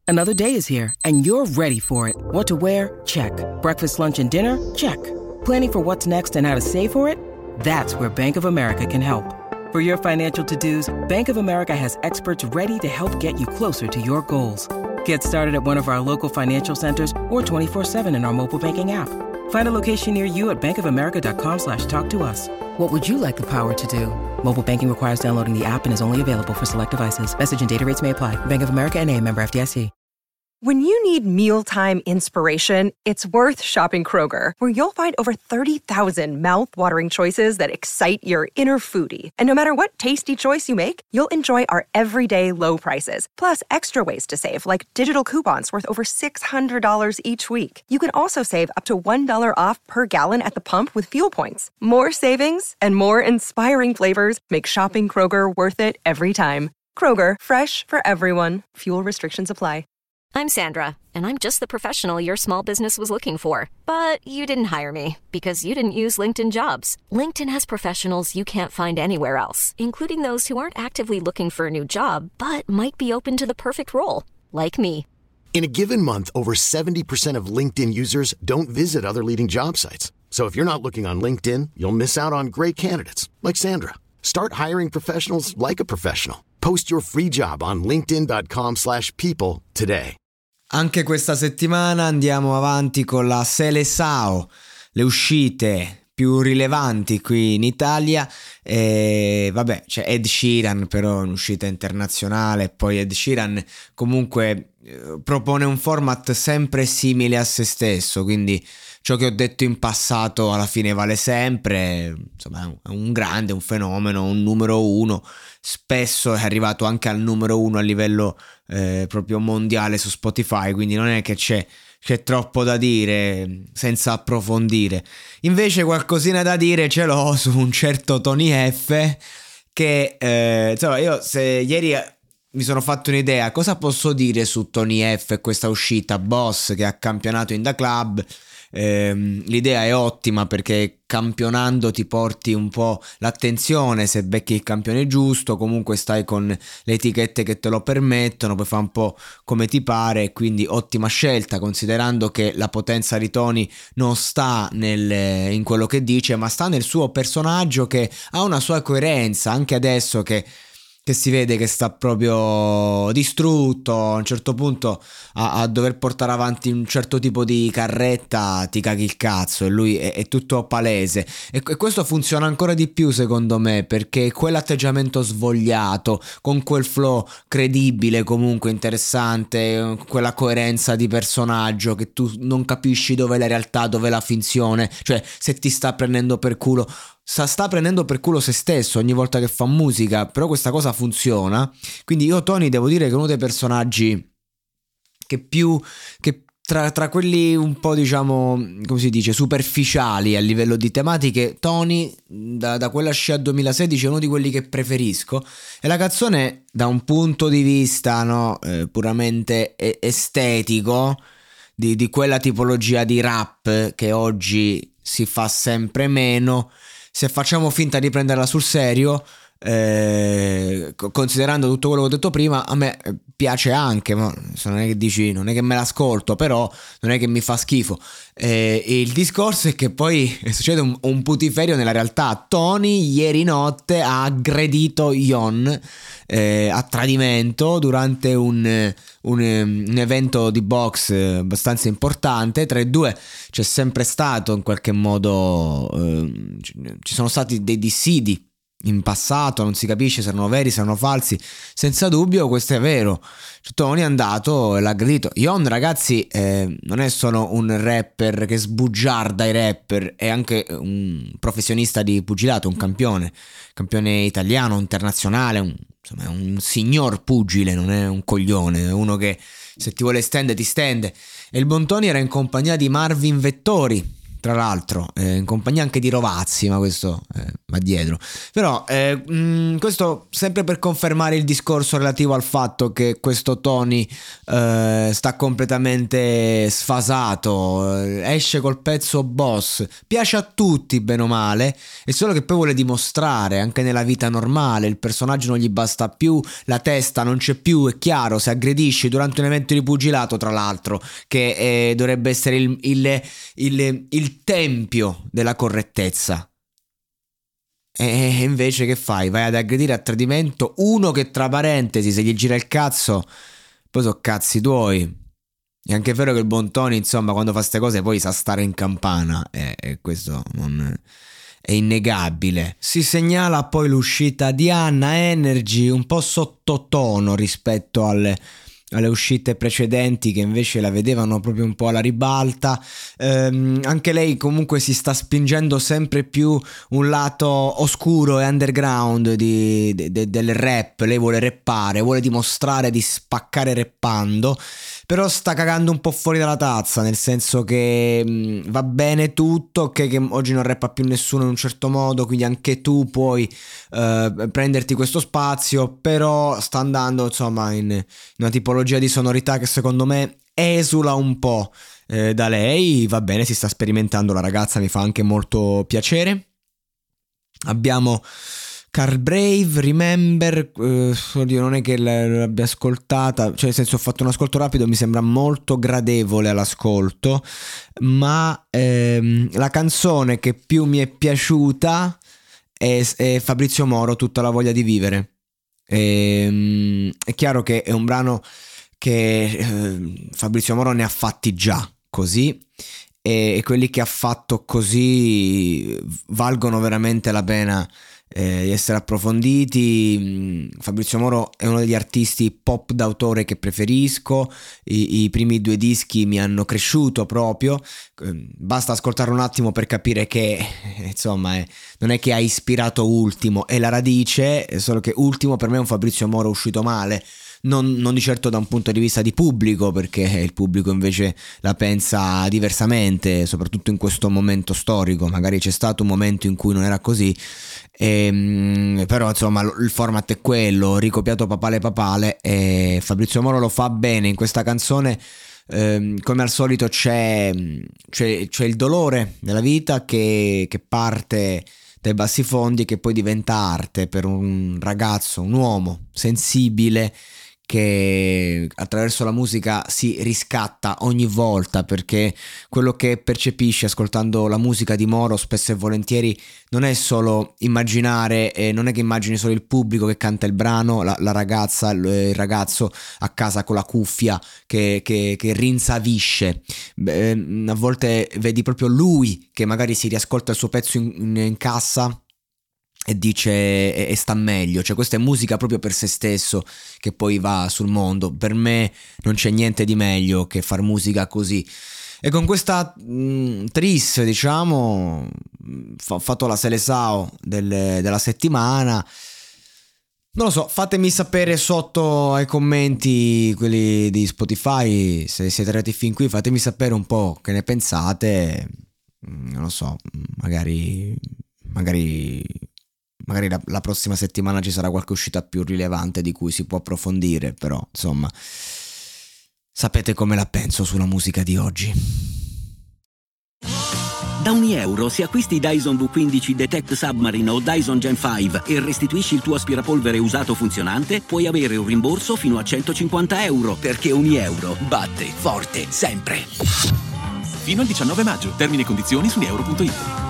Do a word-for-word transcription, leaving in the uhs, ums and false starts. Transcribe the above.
Another day is here, and you're ready for it. What to wear? Check. Breakfast, lunch, and dinner? Check. Planning for what's next and how to save for it? That's where Bank of America can help. For your financial to-dos, Bank of America has experts ready to help get you closer to your goals. Get started at one of our local financial centers or twenty-four seven in our mobile banking app. Find a location near you at bankofamerica.com slash talk to us. What would you like the power to do? Mobile banking requires downloading the app and is only available for select devices. Message and data rates may apply. Bank of America N A, member F D I C. When you need mealtime inspiration, it's worth shopping Kroger, where you'll find over thirty thousand mouth-watering choices that excite your inner foodie. And no matter what tasty choice you make, you'll enjoy our everyday low prices, plus extra ways to save, like digital coupons worth over six hundred dollars each week. You can also save up to one dollar off per gallon at the pump with fuel points. More savings and more inspiring flavors make shopping Kroger worth it every time. Kroger, fresh for everyone. Fuel restrictions apply. I'm Sandra, and I'm just the professional your small business was looking for. But you didn't hire me because you didn't use LinkedIn Jobs. LinkedIn has professionals you can't find anywhere else, including those who aren't actively looking for a new job, but might be open to the perfect role, like me. In a given month, over seventy percent of LinkedIn users don't visit other leading job sites. So if you're not looking on LinkedIn, you'll miss out on great candidates, like Sandra. Start hiring professionals like a professional. Post your free job on linkedin.com slash people today. Anche questa settimana andiamo avanti con la Seleção, le uscite più rilevanti qui in Italia. E vabbè, c'è Ed Sheeran, però è un'uscita internazionale. Poi Ed Sheeran comunque eh, propone un format sempre simile a se stesso, quindi ciò che ho detto in passato alla fine vale sempre. Insomma, è un grande, un fenomeno, un numero uno. Spesso è arrivato anche al numero uno a livello eh, proprio mondiale su Spotify, quindi non è che c'è, c'è troppo da dire senza approfondire. Invece qualcosina da dire ce l'ho su un certo Tony F, che eh, insomma, io se ieri mi sono fatto un'idea cosa posso dire su Tony F e questa uscita Boss che ha campionato in Da Club. Eh, l'idea è ottima perché campionando ti porti un po' l'attenzione, se becchi il campione giusto comunque stai con le etichette che te lo permettono, puoi fare un po' come ti pare, quindi ottima scelta, considerando che la potenza di Tony non sta nel, in quello che dice, ma sta nel suo personaggio che ha una sua coerenza. Anche adesso che che si vede che sta proprio distrutto, a un certo punto a, a dover portare avanti un certo tipo di carretta ti caghi il cazzo, e lui è, è tutto palese, e, e questo funziona ancora di più secondo me, perché quell'atteggiamento svogliato con quel flow credibile, comunque interessante, quella coerenza di personaggio che tu non capisci dove è la realtà, dove è la finzione, cioè se ti sta prendendo per culo sta, sta prendendo per culo se stesso ogni volta che fa musica, però questa cosa funziona. Quindi io Tony devo dire che è uno dei personaggi che più che tra, tra quelli un po', diciamo, come si dice, superficiali a livello di tematiche, Tony da, da quella scia duemilasedici è uno di quelli che preferisco. E la canzone da un punto di vista no, eh, puramente estetico, di, di quella tipologia di rap che oggi si fa sempre meno, se facciamo finta di prenderla sul serio, eh, considerando tutto quello che ho detto prima, a me piace anche, ma non è che dici, non è che me l'ascolto, però non è che mi fa schifo. Eh, il discorso è che poi succede un, un putiferio nella realtà. Tony ieri notte ha aggredito Yon eh, a tradimento durante un, un, un evento di box abbastanza importante. Tra i due c'è sempre stato in qualche modo, eh, ci sono stati dei dissidi in passato, non si capisce se erano veri, se erano falsi. Senza dubbio questo è vero. Tony è andato e l'ha aggredito. Yon, ragazzi, eh, non è solo un rapper che sbugiarda i rapper, è anche un professionista di pugilato, un campione campione italiano, internazionale, un, insomma è un signor pugile, non è un coglione, è uno che se ti vuole stendere ti stende. E il buon Tony era in compagnia di Marvin Vettori, tra l'altro, eh, in compagnia anche di Rovazzi, ma questo eh, va dietro. Però eh, mh, questo sempre per confermare il discorso relativo al fatto che questo Tony eh, sta completamente sfasato, eh, esce col pezzo Boss, piace a tutti bene o male, è solo che poi vuole dimostrare anche nella vita normale, il personaggio non gli basta più, la testa non c'è più, è chiaro, se aggredisci durante un evento di pugilato, tra l'altro, che eh, dovrebbe essere il, il, il, il il tempio della correttezza, e invece che fai? Vai ad aggredire a tradimento uno che, tra parentesi, se gli gira il cazzo poi so cazzi tuoi. È anche vero che il buon Tony, insomma, quando fa ste cose poi sa stare in campana, e, e questo non è innegabile. Si segnala poi l'uscita di Anna Energy, un po' sottotono rispetto alle alle uscite precedenti, che invece la vedevano proprio un po' alla ribalta. Ehm, anche lei comunque si sta spingendo sempre più un lato oscuro e underground di, de, de, del rap. Lei vuole rappare, vuole dimostrare di spaccare rappando, però sta cagando un po' fuori dalla tazza, nel senso che mh, va bene tutto, ok, che oggi non rappa più nessuno in un certo modo, quindi anche tu puoi uh, prenderti questo spazio, però sta andando insomma in, in una tipologia di sonorità che secondo me esula un po' eh, da lei. Va bene, si sta sperimentando la ragazza, mi fa anche molto piacere. Abbiamo Carl Brave, Remember, eh, oddio, non è che l'abbia ascoltata, cioè nel senso ho fatto un ascolto rapido, mi sembra molto gradevole all'ascolto, ma ehm, la canzone che più mi è piaciuta è, è Fabrizio Moro, Tutta la voglia di vivere. E, è chiaro che è un brano che eh, Fabrizio Moro ne ha fatti già così, e, e quelli che ha fatto così valgono veramente la pena Eh, di essere approfonditi. Fabrizio Moro è uno degli artisti pop d'autore che preferisco. I, i primi due dischi mi hanno cresciuto proprio, eh, basta ascoltare un attimo per capire che eh, insomma è, non è che ha ispirato Ultimo, è la radice, è solo che Ultimo per me è un Fabrizio Moro uscito male. Non, non di certo da un punto di vista di pubblico, perché il pubblico invece la pensa diversamente, soprattutto in questo momento storico. Magari c'è stato un momento in cui non era così, e, però insomma il format è quello, ricopiato papale papale, e Fabrizio Moro lo fa bene in questa canzone. Eh, come al solito c'è, c'è, c'è il dolore della vita che, che parte dai bassi fondi, che poi diventa arte per un ragazzo, un uomo sensibile, che attraverso la musica si riscatta ogni volta, perché quello che percepisce ascoltando la musica di Moro spesso e volentieri non è solo immaginare, eh, non è che immagini solo il pubblico che canta il brano, la, la ragazza, il ragazzo a casa con la cuffia che, che, che rinsavisce. Beh, a volte vedi proprio lui che magari si riascolta il suo pezzo in, in, in cassa e dice e, e sta meglio. Cioè questa è musica proprio per se stesso che poi va sul mondo. Per me non c'è niente di meglio che far musica così. E con questa mh, tris, diciamo, ho fatto la Seleção del, della settimana. Non lo so, fatemi sapere sotto ai commenti, quelli di Spotify, se siete arrivati fin qui, fatemi sapere un po' che ne pensate. Non lo so, magari magari magari la, la prossima settimana ci sarà qualche uscita più rilevante di cui si può approfondire, però insomma sapete come la penso sulla musica di oggi. Da ogni euro, se acquisti Dyson V quindici Detect Submarine o Dyson Gen cinque e restituisci il tuo aspirapolvere usato funzionante, puoi avere un rimborso fino a centocinquanta euro, perché ogni euro batte forte sempre. Fino al diciannove maggio. Termini e condizioni su unieuro punto it.